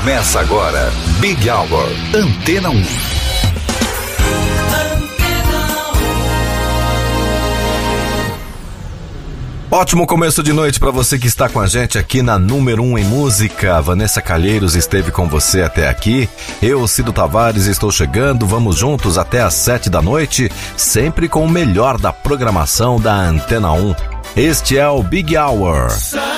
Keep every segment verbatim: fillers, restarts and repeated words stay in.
Começa agora, Big Hour, Antena um. Ótimo começo de noite para você que está com a gente aqui na número um em música. Vanessa Calheiros esteve com você até aqui. Eu, Cido Tavares, estou chegando. Vamos juntos até às sete da noite, sempre com o melhor da programação da Antena um. Este é o Big Hour.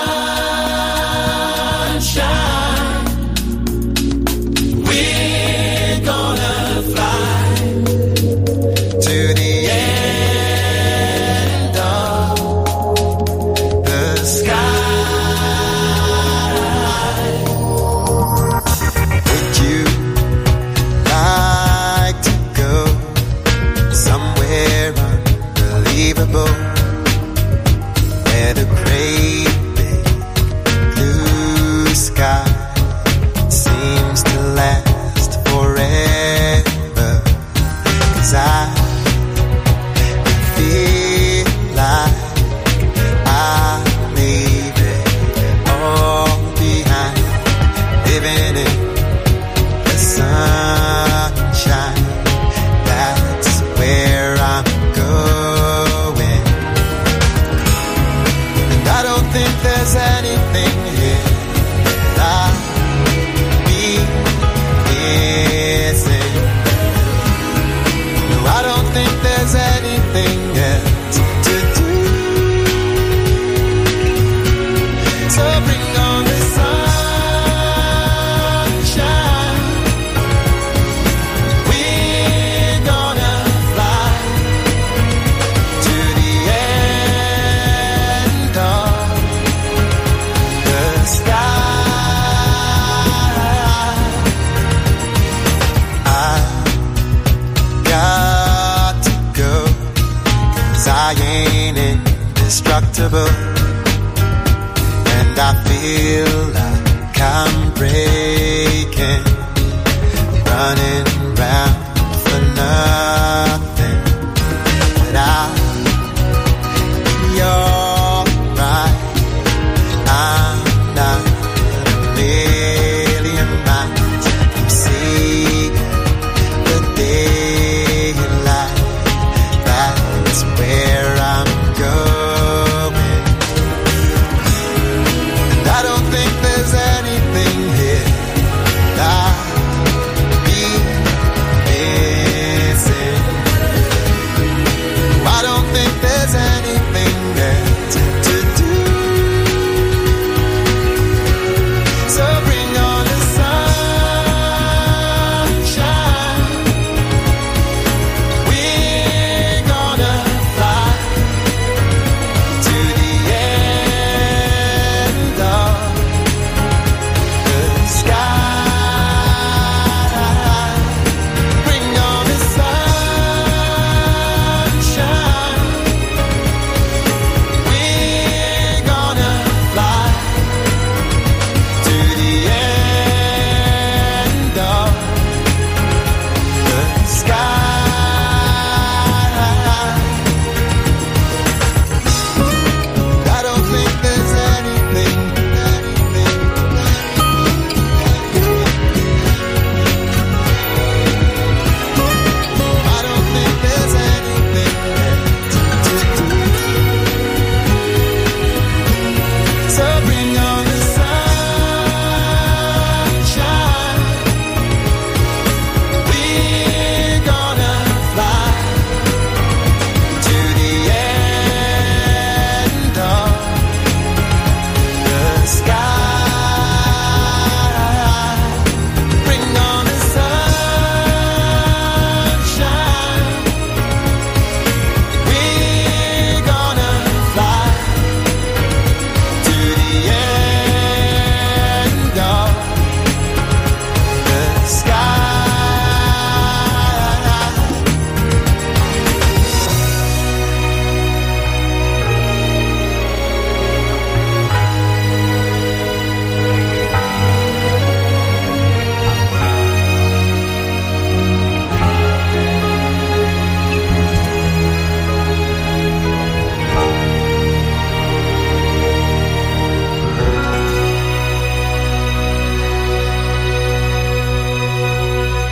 And I feel like I'm breaking, running round for nothing. But I'll be alright. I'm not a million miles from seeing the daylight. That's where I'm going. Missing.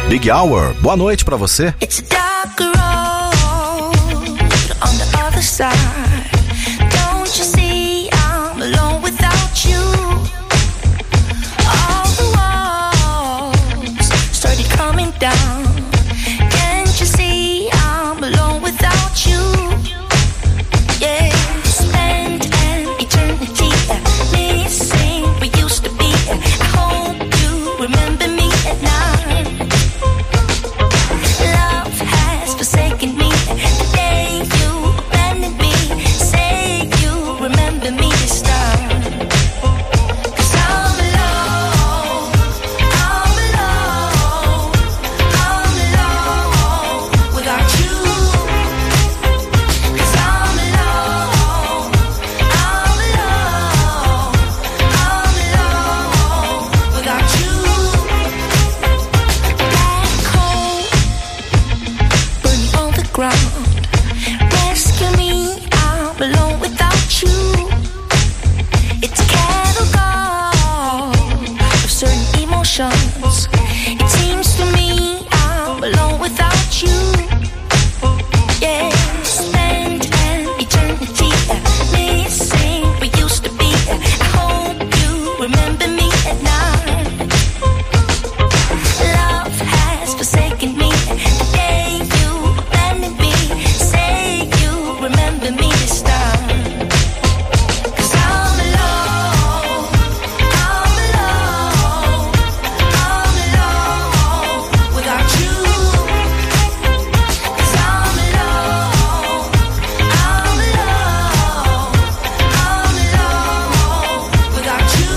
Big Hour, boa noite pra você. It's a dark road on the other side. Don't you see I'm alone without you? All the walls started coming down. Can't you see I'm alone without you? Yeah, spend an eternity missing we used to be. I hope you remember me at night. Love has forsaken me the day you abandoned me. Say you remember me this time. 'Cause I'm alone, I'm alone, I'm alone without you. 'Cause I'm alone, I'm alone, I'm alone without you. Black hole burning on the ground. Rescue me, I'm alone without you. It's a catalog of certain emotions. It seems to me I'm alone without you. Yeah, spend an eternity missing we used to be. I hope you remember me at night. Love has forsaken me the day you abandoned me. Say you remember me this time. 'Cause I'm alone, I'm alone, I'm alone without you. 'Cause I'm alone, I'm alone, I'm alone without you.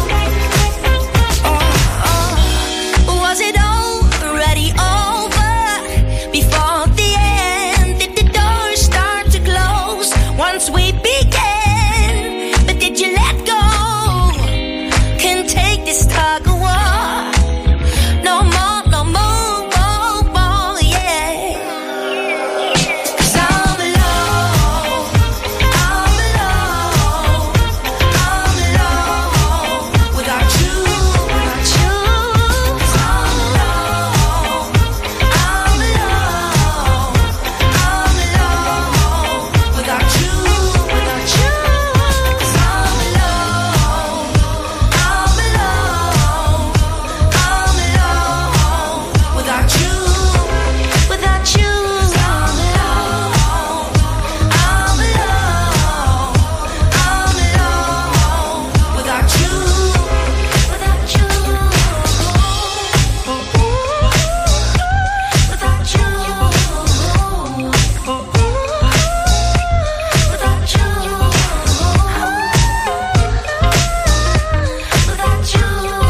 Oh, was it already over before the end? Did the doors start to close once we began? But did you let go? Can't take this tug of war no more, no more, more, more, yeah. 'Cause I'm alone, I'm alone, I'm alone without you, without you. 'Cause I'm alone, I'm alone, I'm alone without you, without you. 'Cause I'm alone, I'm alone, I'm alone without you, without you. 'Cause I'm alone, I'm alone, I'm alone without you, without you, without you, without you, without you.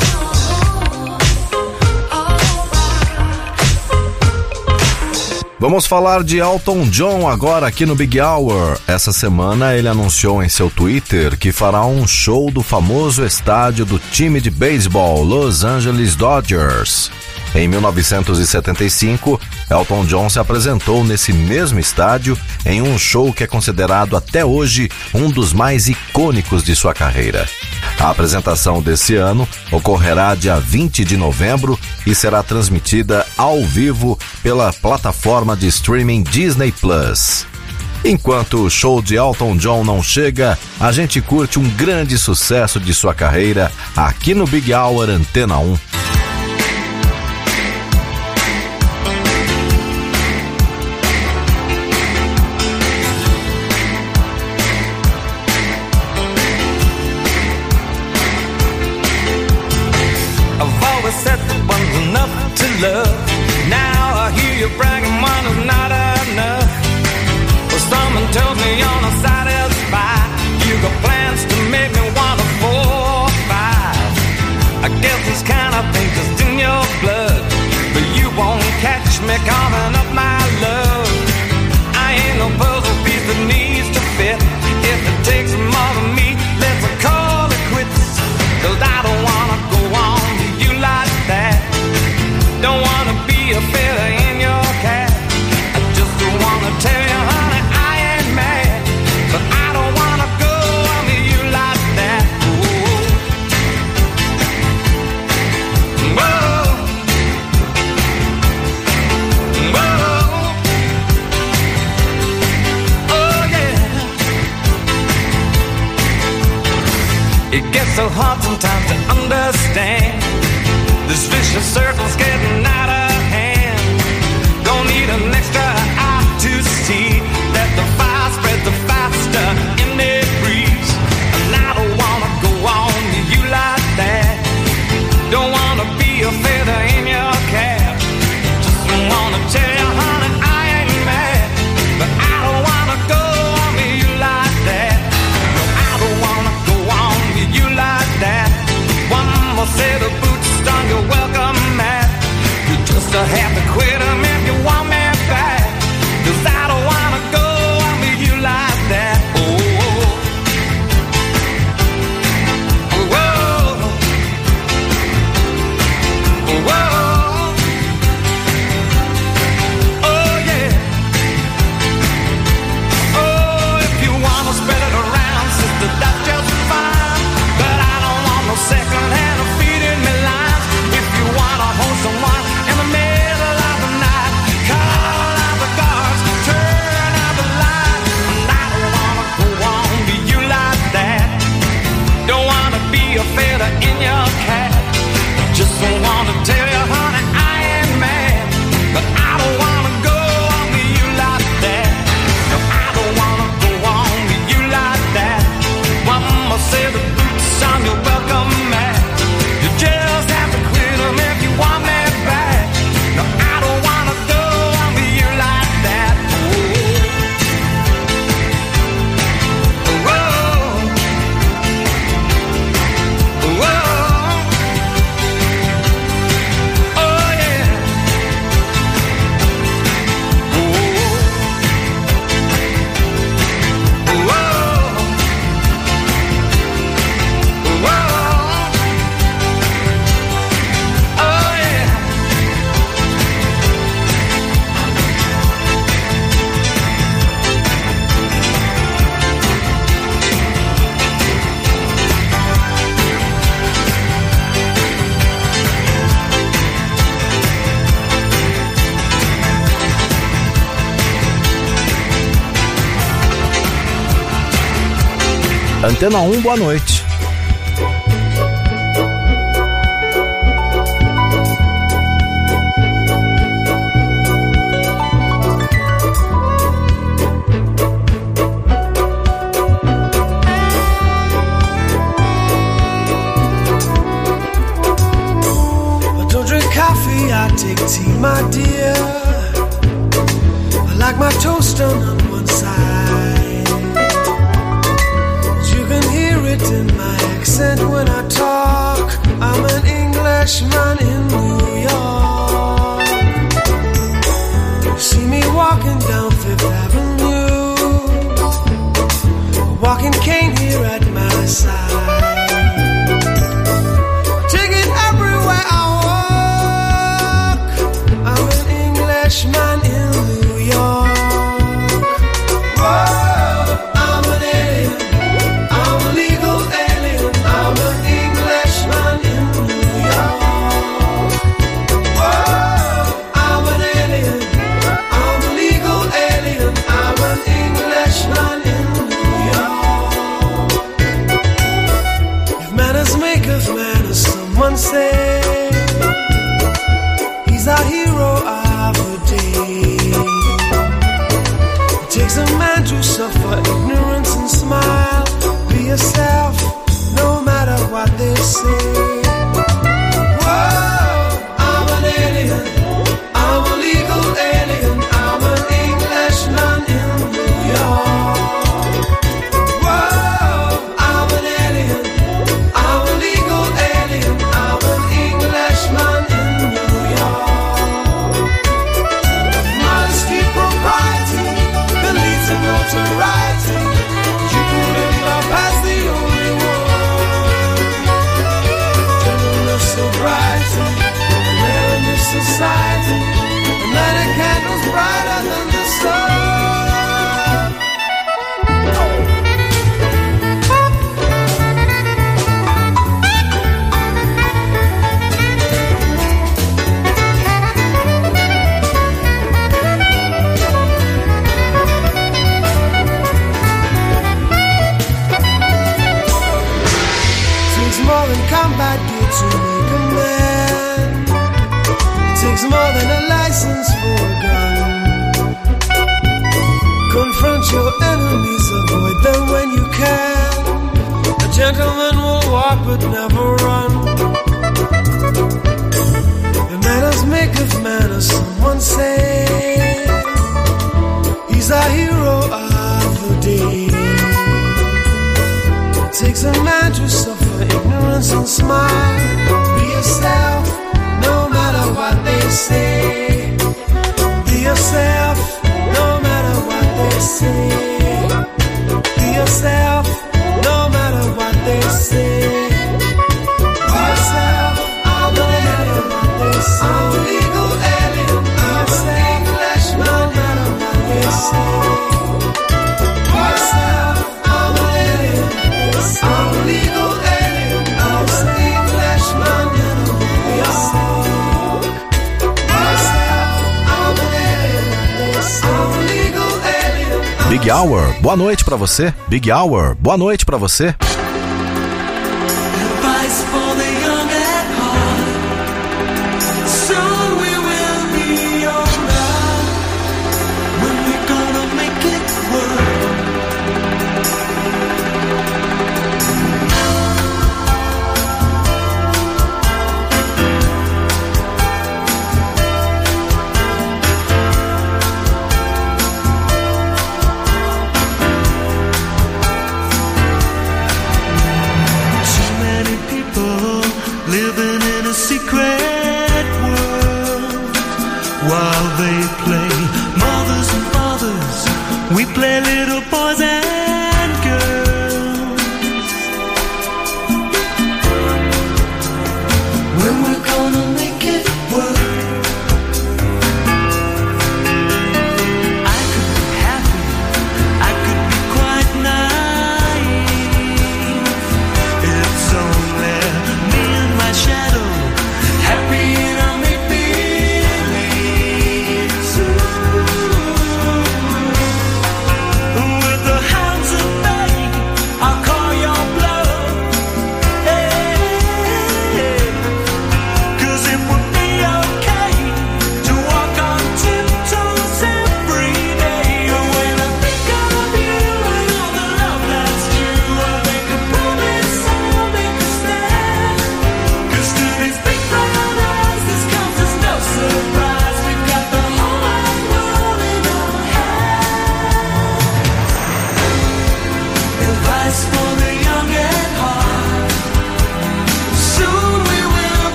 Vamos falar de Elton John agora aqui no Big Hour. Essa semana ele anunciou em seu Twitter que fará um show do famoso estádio do time de beisebol Los Angeles Dodgers. Em mil novecentos e setenta e cinco, Elton John se apresentou nesse mesmo estádio em um show que é considerado até hoje um dos mais icônicos de sua carreira. A apresentação desse ano ocorrerá dia vinte de novembro e será transmitida ao vivo pela plataforma de streaming Disney Plus. Enquanto o show de Elton John não chega, a gente curte um grande sucesso de sua carreira aqui no Big Hour Antena um. Said that one's enough to love. Now I hear you bragging one is not enough. Well, someone tells me you're not satisfied. You got plans to make me want a four or five. I guess it's kind of gets so hard sometimes to understand. This vicious circle's getting out of hand. Don't need an extra eye to see that the fire spreads the faster in the breeze. And I don't wanna go on to you like that. Don't wanna be a feather in your cap. Just wanna tell you, honey, I ain't mad, but I don't wanna go on to you like that. No, I don't wanna go on to you like that. One more set of boots on your welcome mat. You just have to quit 'em if you want me back. 'Cause I don't wanna go on to you like that. Oh, oh, oh, oh, oh. Second hand of feeding me lines. If you wanna hold someone in the middle of the night, call out the guards, turn out the light. And I don't wanna go on to you like that. Don't wanna be a feather in your cap. Just don't wanna tell you, honey, I ain't mad, but I don't wanna go on to you like that. No, I don't wanna go on to you like that. One more set of boots on your welcome mat. You just have to quit 'em if you want me back. No, I don't wanna go on to you like that. Oh, oh, oh, oh, yeah. Oh, oh, oh. Antena um, boa noite. I don't drink coffee, I take tea, my dear. I like my toast done on one side. In my accent when I talk, I'm an Englishman in New York. You see me walking down Fifth Avenue, a walking cane here at my side. Take it everywhere I walk, I'm an Englishman in New York. Whoa. Say he's our hero of the day. It takes a man to suffer ignorance and smile. Be yourself, no matter what they say. Whoa, I'm an alien, I'm a legal alien, I'm an Englishman in New York. Whoa, I'm an alien, I'm a legal alien, I'm an Englishman in New York. Modesty, propriety, beliefs and notoriety. You couldn't pass the only one. takes more than combat gear to make a man. It takes more than a license for a gun. Confront your enemies, avoid them when you can. A gentleman will walk but never run. The manners maketh manners, someone say. He's a hero of the day. It takes a man to suffer ignorance and smile. Be yourself, no matter what they say. Be yourself, no matter what they say. Be yourself, no matter what they say. Be yourself, no matter what they say. I'm a legal alien, I'm a English, no matter what they say. Be yourself, I'm a alien, I'm a legal alien, I'm a English, no matter what they say. Be yourself, I'm a alien, I'm a legal alien. Big Hour, boa noite pra você. Big Hour, boa noite pra você. Advice for the young at heart. Soon we will be alright. When we're gonna make it work.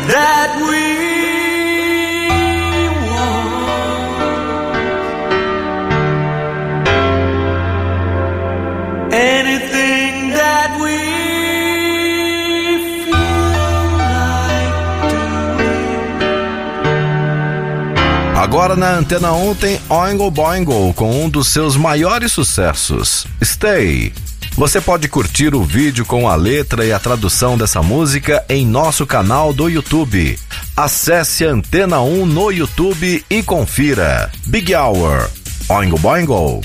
that we want, anything that we feel like doing. Agora na Antena um tem Oingo Boingo com um dos seus maiores sucessos, Stay. Você pode curtir o vídeo com a letra e a tradução dessa música em nosso canal do YouTube. Acesse Antena um no YouTube e confira. Big Hour, Oingo Boingo.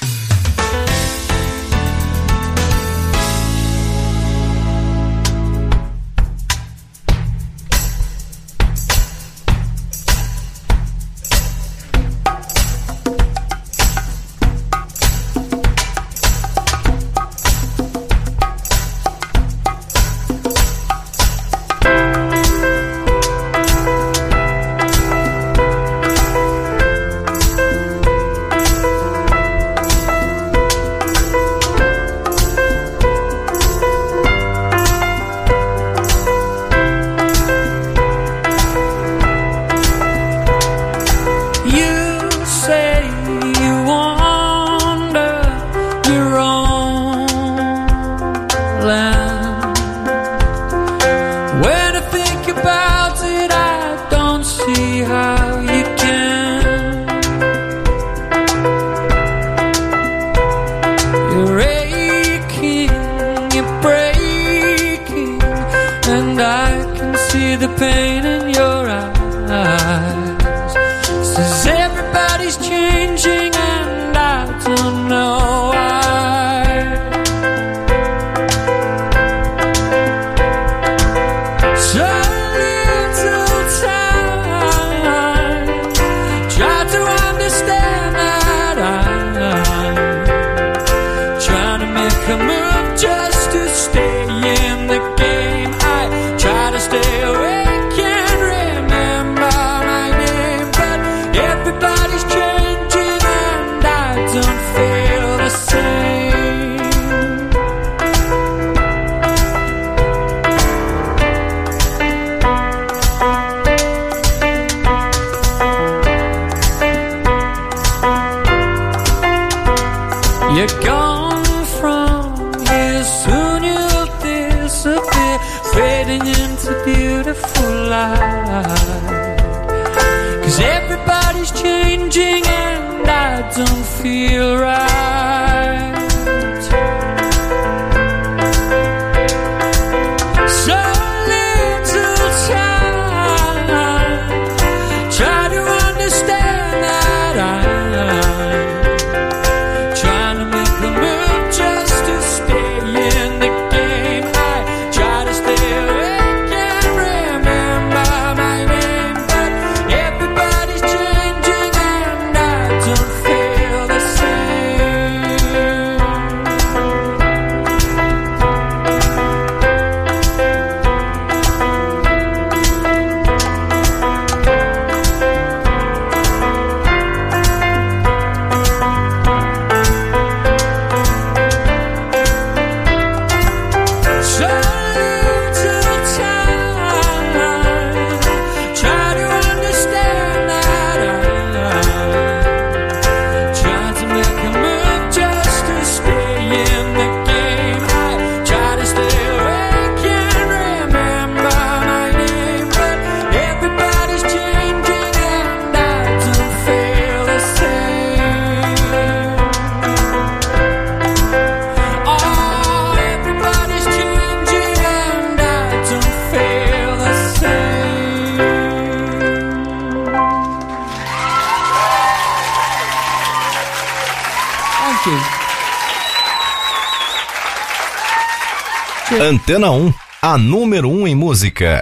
Antena um, a número um em música.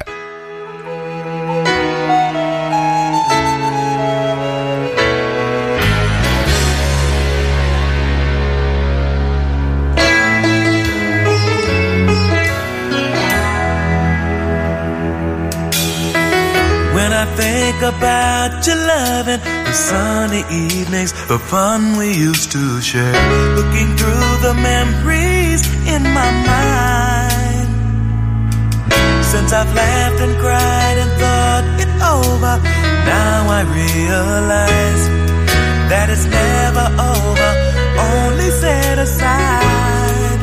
When I think about your loving, the sunny evenings, the fun we used to share, looking through the memories in my mind, Since I've laughed and cried and thought it over, now I realize that it's never over, only set aside.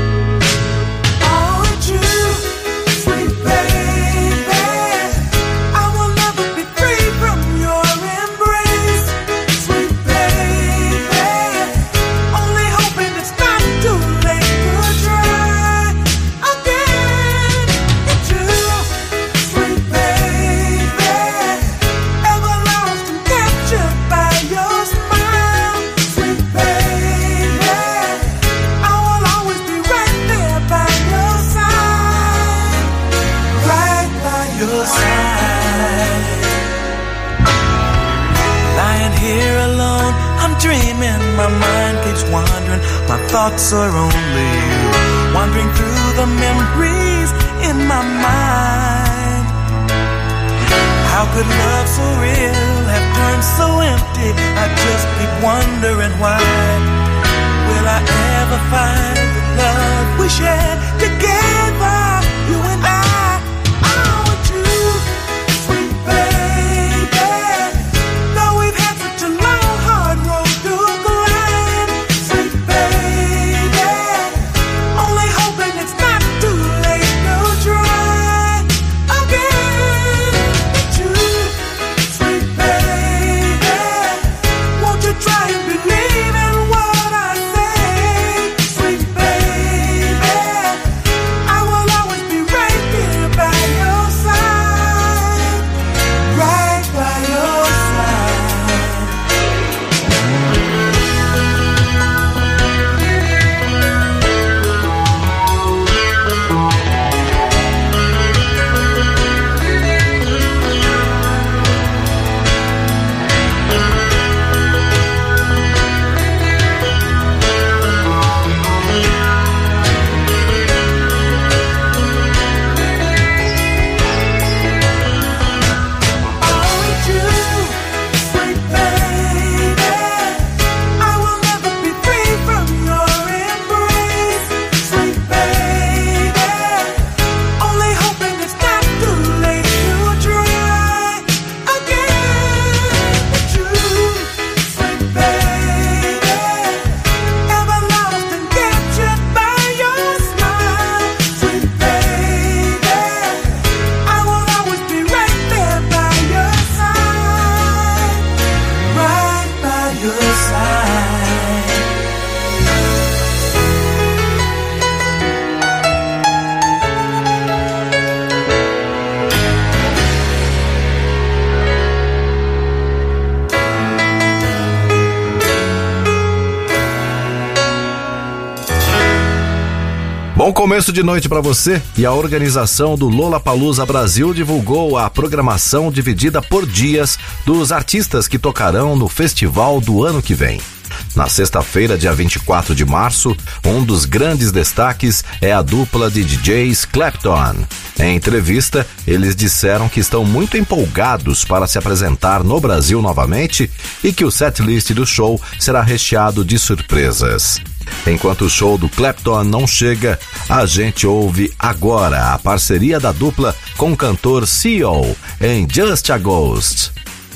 Oh, it's you, sweet baby, I will never be free from your embrace. Sweet baby, only hoping it's not too late to try again. It's you, sweet baby, ever lost and captured by your smile. Sweet baby, I will always be right there by your side, right by your side. Lying here alone, I'm dreaming, my mind keeps wandering, my thoughts are only you, wandering through the memories in my mind. How could love so real have turned so empty? I just keep wondering why. Will I ever find the love we shared together, you and I? Oh, with you, sweet baby, though we've had such a long, hard road to climb. Sweet baby, only hoping it's not too late to try again. It's you, sweet baby, won't you try and believe in what I say? Sweet baby, I will always be right here by your side, right by your side. Oh, it's you, sweet baby, I will never be free from your embrace. Sweet baby, only hoping it's not too late to try again. It's you, sweet baby, ever lost and captured by your smile. Sweet baby, I will always be right there by your side, right by your side. Bom começo de noite para você. E a organização do Lollapalooza Brasil divulgou a programação dividida por dias dos artistas que tocarão no festival do ano que vem. Na sexta-feira, dia vinte e quatro de março, um dos grandes destaques é a dupla de D Js Clapton. Em entrevista, eles disseram que estão muito empolgados para se apresentar no Brasil novamente e que o setlist do show será recheado de surpresas. Enquanto o show do Clapton não chega, a gente ouve agora a parceria da dupla com o cantor C E O em Just a Ghost.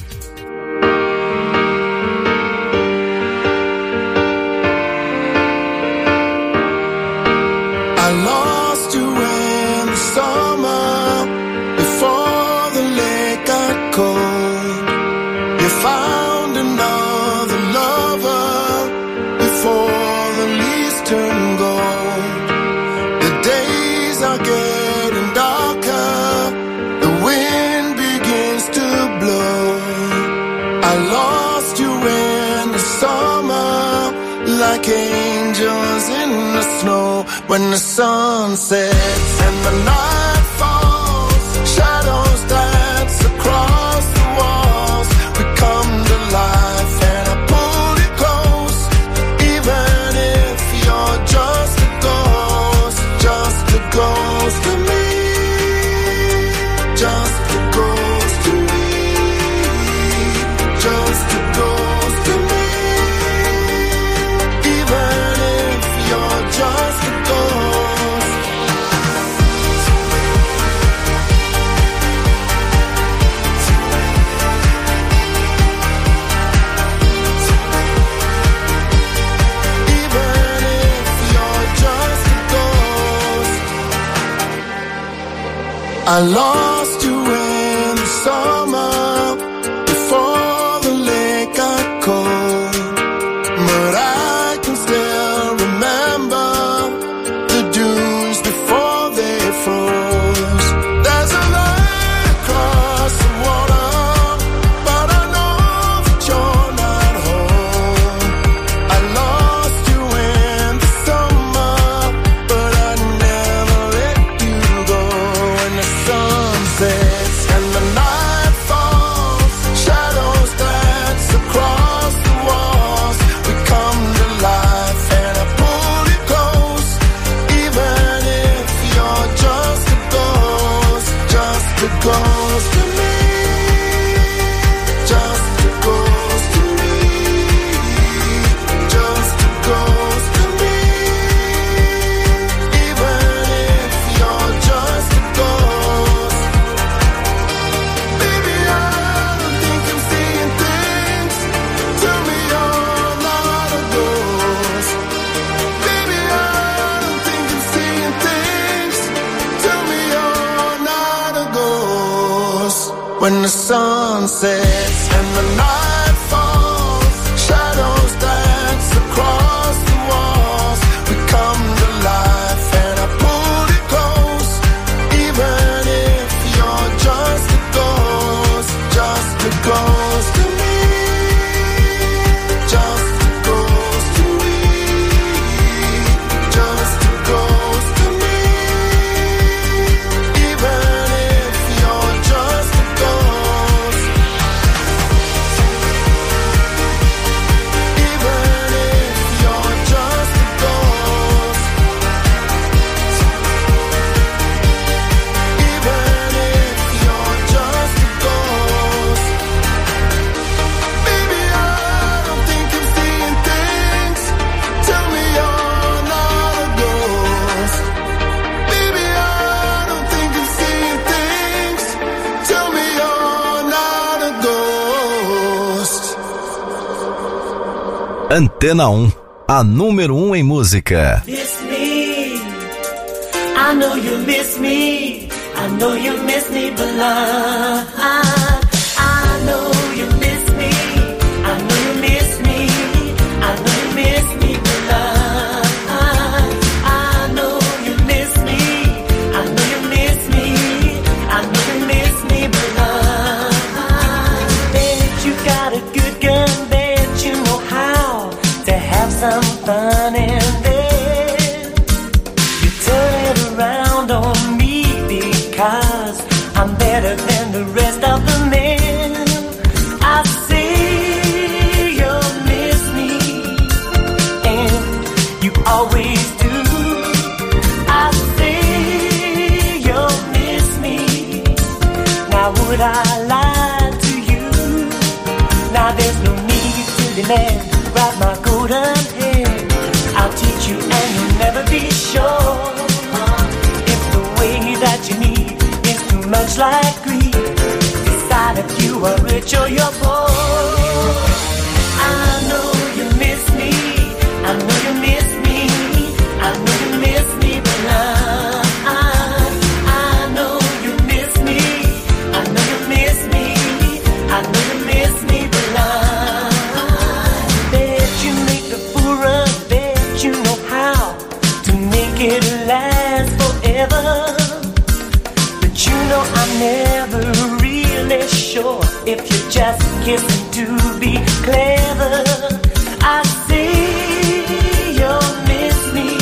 I lost you in the summer before the lake got cold. You found another lover before the leaves turn gold. The days are getting darker, the wind begins to blow. I lost you in the summer like angels in the snow. When the sun sets and the night falls, shadows dance across the walls. We come to life and I pull you close, even if you're just a ghost, just a ghost to me, just a ghost to me, just a ghost to me, even if you're just a ghost. I lost you in the summer before the lake got cold, but I can still remember the dunes before they froze. There's a line across the water, but I know that you're not home. I lost you in the summer, but I never let you go. When the sun sets and the night falls, shadows dance across the walls. We come to life and I pull you close, even if you're just a ghost, just a ghost to me, just a ghost to me, just a ghost to me, even if you're just a ghost. Baby, I don't think I'm seeing things. Tell me you're not a ghost. Baby, I don't think I'm seeing things. Tell me you're not a ghost. When the sun sets and the night falls, shadows dance across the walls. We come to life and I pull you close, even if you're just a ghost, just a ghost to me, just a ghost to me, just a ghost to me, even if you're just a ghost, even if you're just a ghost, even if you're just a ghost. Baby, I don't think I'm seeing things. Tell me you're not a ghost. Baby, I don't think I'm seeing things. Tell me you're not a ghost. Antena um, a número um em música. Miss me, I know you miss me, I know you miss me, but I, I know you miss me, I know you miss me, I know you miss me, but I, I know you miss me, I know you miss me, I know you miss me, but I bet you got a good gun, bet you know how to have some fun, and then you turn it around on me because I'm better than the rest of the men. I see you miss me, and you always do. I see you miss me. Now would I lie to you? Now there's no need to demand. Grab my golden hand, I'll teach you and you'll never be sure. If the way that you need is too much like greed, decide if you are rich or you're poor. I know you miss me, I know you miss me, I know you miss me, but I, I know you miss me, I know you miss me, I know you miss me, but I bet you make the fool run, bet you know how to make it last forever. But you know I'm never really sure if you're just kissing to be clever. I see you miss me,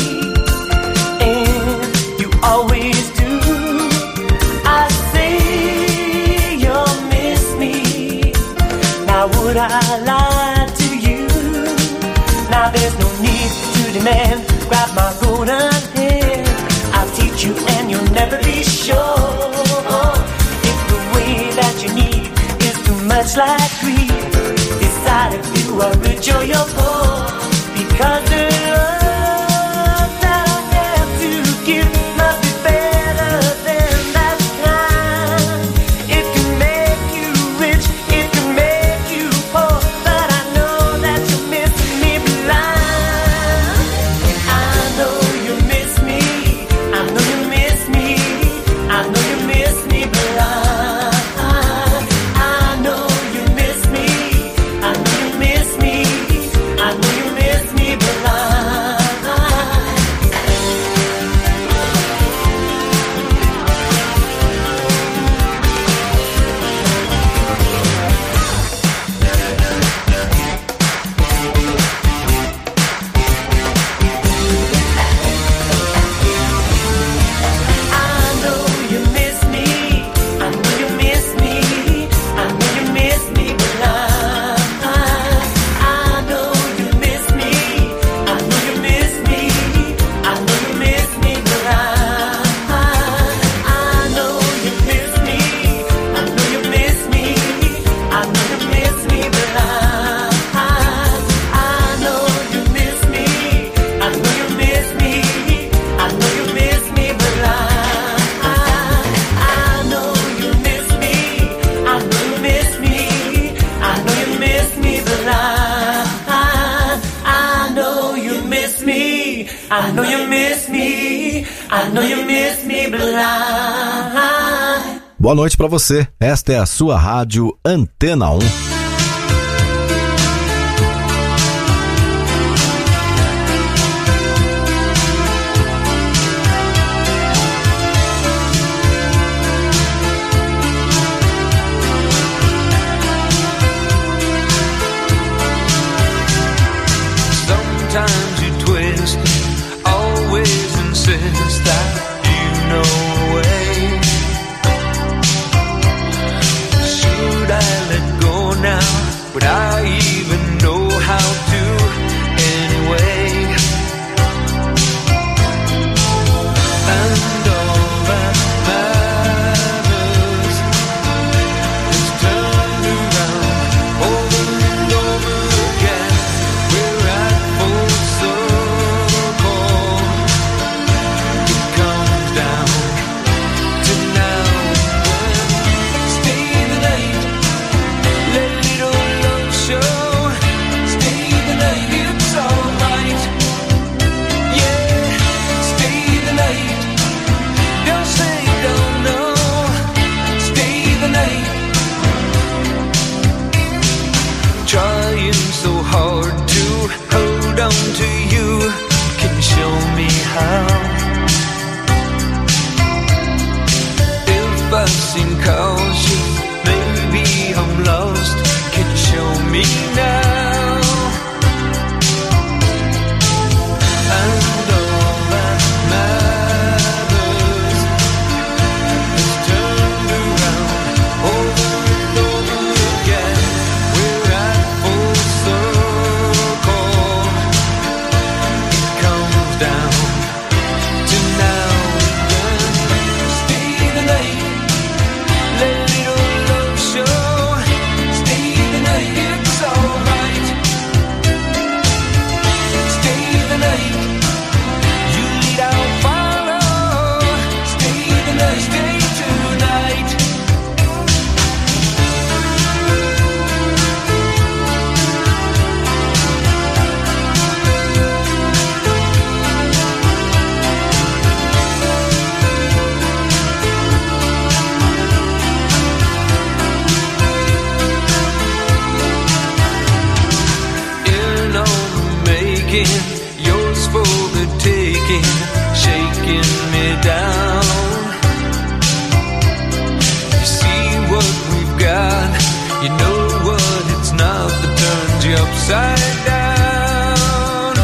and you always do. I see you miss me. Now would I lie to you? Now there's no need to demand. Grab my golden hand, I'll teach you and you'll never be sure. If the way that you need is too much like greed, decide if you are rich or you're poor. Because the love that I have to give must be better than that kind. It can make you rich, it can make you poor, but I know that you miss me blind. I know you miss me, I know you miss me, I know you miss me. I know you miss me. I know you miss me blind. Boa noite pra você. Esta é a sua rádio Antena um. Sometimes you twist, always insist that you know a way. Should I let go now? Would I even know how to anyway? And all that matters is turned around over and over again. We're at full circle. It comes down to now and then. Stay the night, let little love show. Stay the night, it's alright. Yeah, stay the night. Don't say don't know. Stay the night. Trying so hard to hold on to you. Can you show me how? If I seem cautious, maybe I'm lost. Can you show me now? And all that matters is turned around over and over again. We're at full circle. It comes down to now and then. Stay the night, let little love show. Stay the night, it's alright. Stay the night, you lead, I'll follow. Stay the night, stay tonight. In on the making, yours for the taking, shaking me down. You see what we've got, you know what it's not that turns you upside down.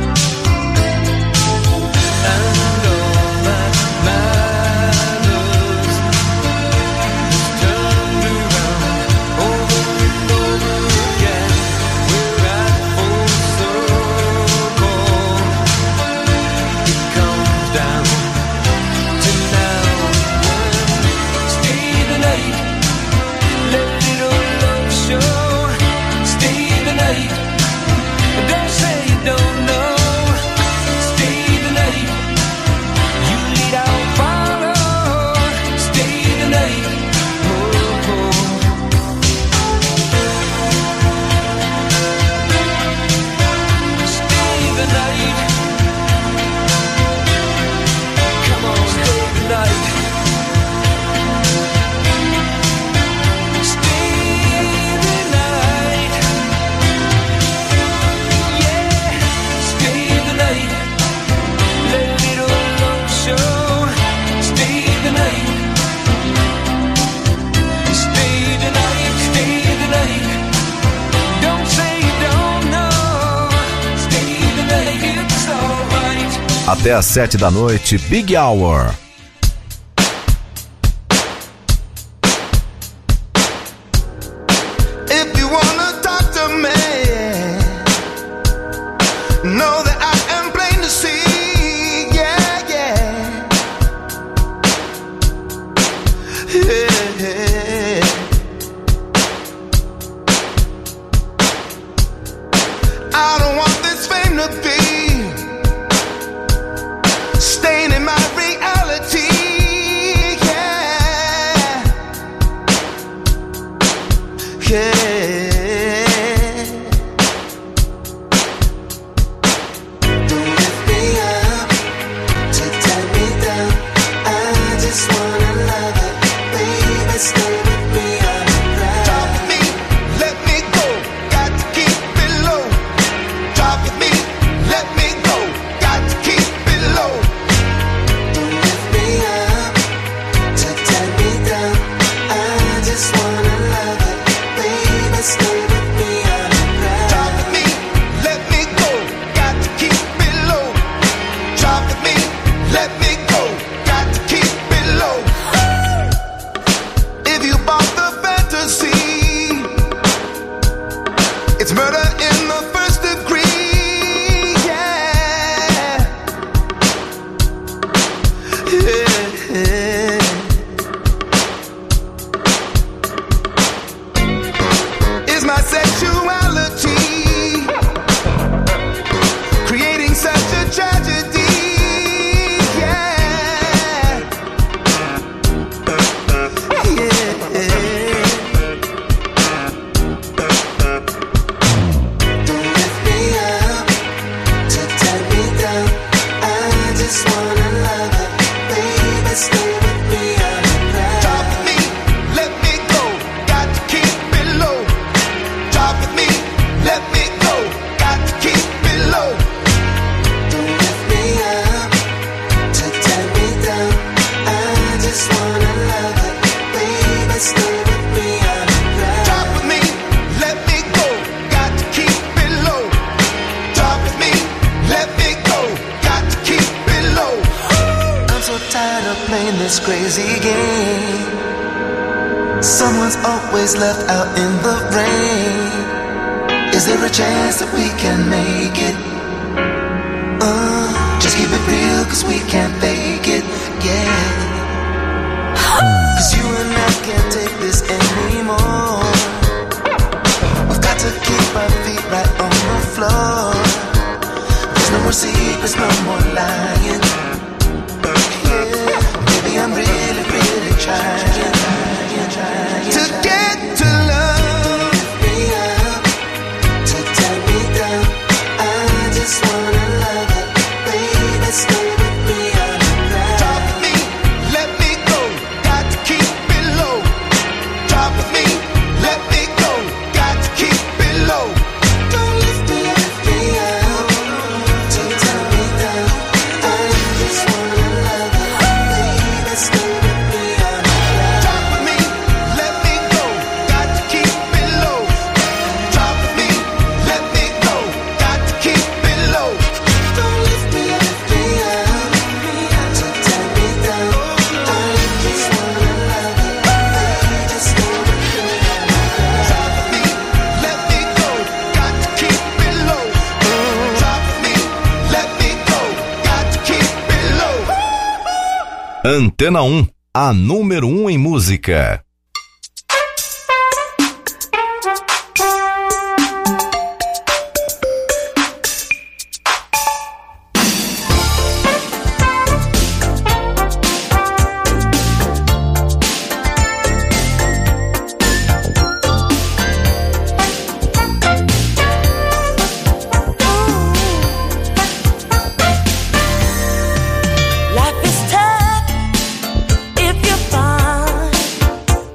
And all that matters is turned around over and over again. We're at full circle. It comes down to now and then. Stay the night, let little love show. Stay the night, don't say you don't know. Stay the night, you lead, I'll follow. Stay the night, oh, oh. Stay the night. Come on, stay the night. Stay the night. Yeah, stay the night. Let little love show. Stay the night. Stay the night, stay the night. Don't say you don't know. Stay the night, it's alright. Até às sete da noite, Big Hour. If you wanna talk to me, know that I am plain to see. Yeah, yeah, yeah. I don't want this fame to be staining my reality. Yeah, yeah. Don't lift me up. crazy game. Someone's always left out in the rain. Is there a chance that we can make it? Uh, just keep it real, cause we can't fake it, yeah. Cause you and I can't take this anymore. We've got to keep our feet right on the floor. There's no more secrets, no more lying. Yeah, maybe I'm really, really trying, trying, trying to get to love me up, to turn me down. I just wanna love it, baby, stay with me on the ground. Talk with me, let me go, got to keep it low. Talk with me, let me go, got to keep it low. Don't lift me, lift me up, to turn me down. I just wanna love it, baby, stay with me on the ground. Talk with me, let me go, got to keep it low. Talk with me, let me go, got to keep it low. Don't lift me, lift me up, to turn me down. I just wanna love it, baby, stay with me on the ground. Talk with me, let me go, got to keep it low. Talk with me, let me go, got to keep it low. Antena um, a número um em música. Life is tough if you find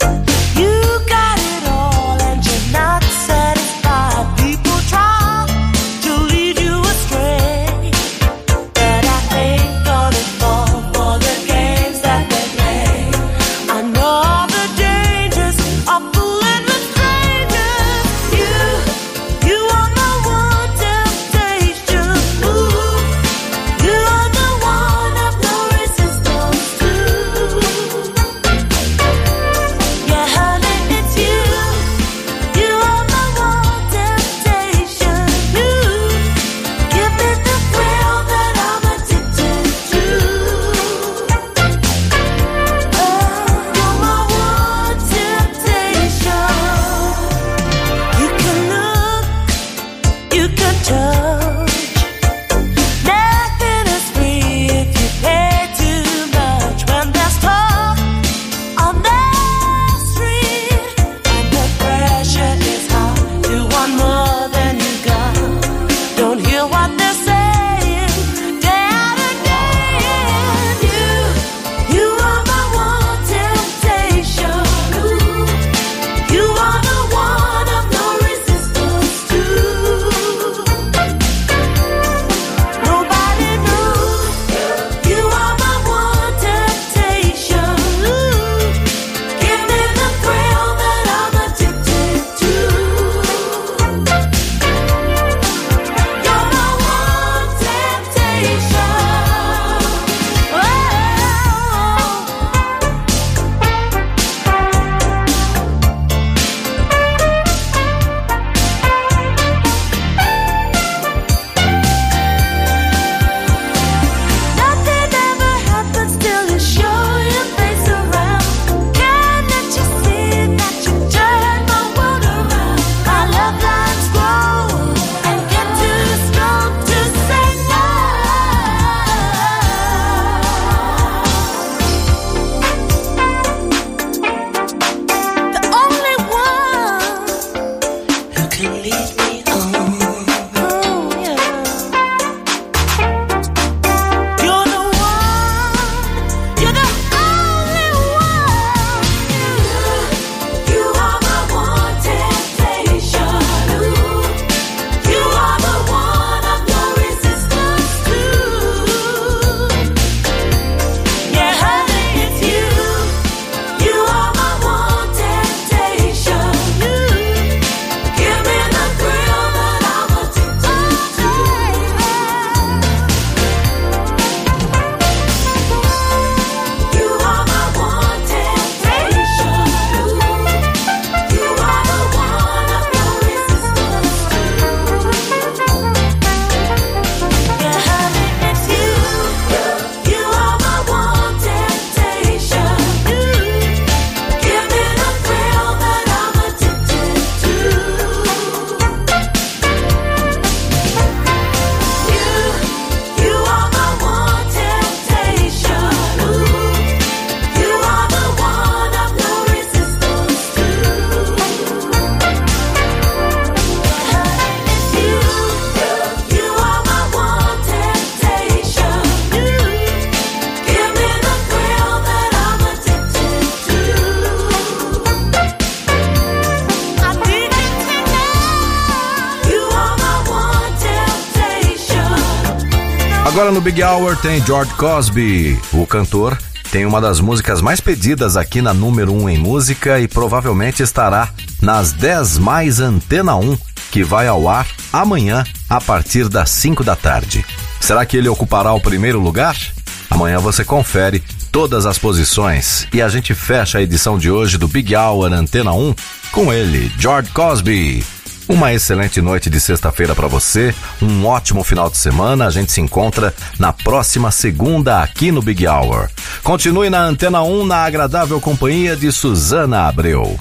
Agora no Big Hour tem George Cosby. O cantor tem uma das músicas mais pedidas aqui na número um em música e provavelmente estará nas dez mais Antena um, que vai ao ar amanhã a partir das cinco da tarde. Será que ele ocupará o primeiro lugar? Amanhã você confere todas as posições e a gente fecha a edição de hoje do Big Hour Antena um com ele, George Cosby. Uma excelente noite de sexta-feira para você, um ótimo final de semana. A gente se encontra na próxima segunda aqui no Big Hour. Continue na Antena um na agradável companhia de Suzana Abreu.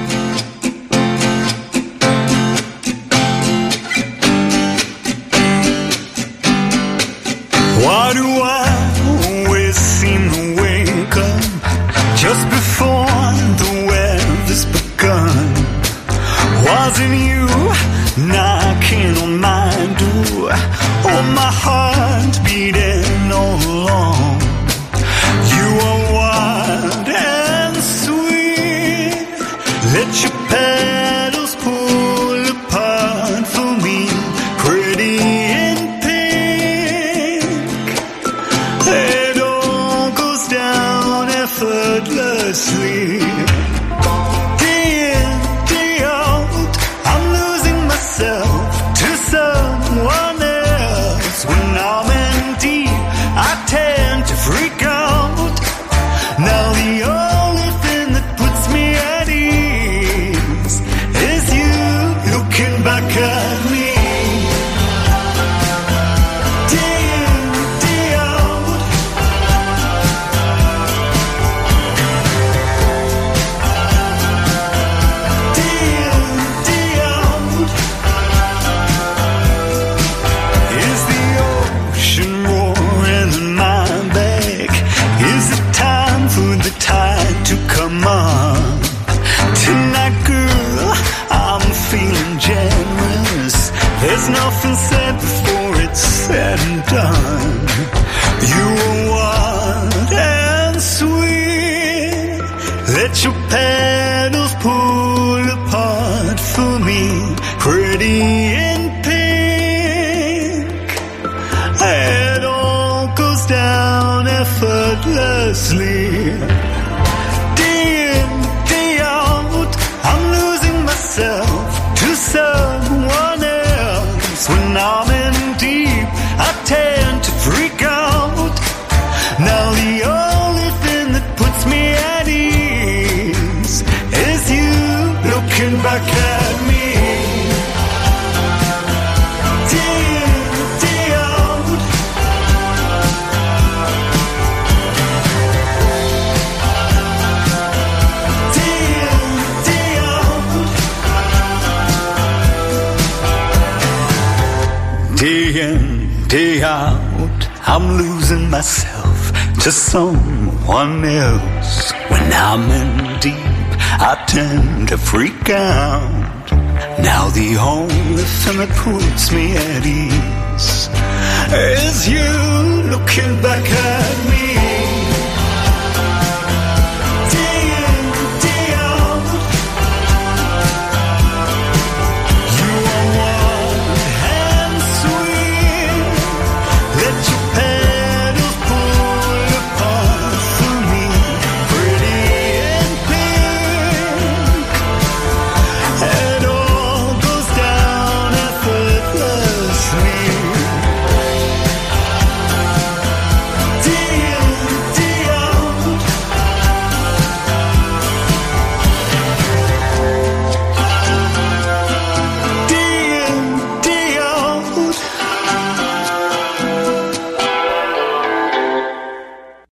Why do I always seem to wake up just before the weather's begun? Wasn't you knocking on my door? Oh, my heart beating all along. You are wild and sweet. Let your petals pull apart for me, pretty in pink. It all goes down effortlessly. To someone else, when I'm in deep, I tend to freak out. Now the only thing that puts me at ease is you looking back at me. Day in, day out. Day in, day out. Is the ocean roaring in my back? Is it time for the tide to come on? Tonight, girl, I'm feeling generous. There's nothing said before it's said and done. You are wild and sweet. Let your petals pull apart for me, pretty in pink. It all goes down effortlessly. Day in, day out, I'm losing myself to someone else. When I'm in deep, I tend to freak out. Now the only thing that puts me at ease is you looking back at me. Day in, day out, I'm losing myself to someone else. When I'm in deep, I tend to freak out. Now the only thing that puts me at ease is you looking back at me.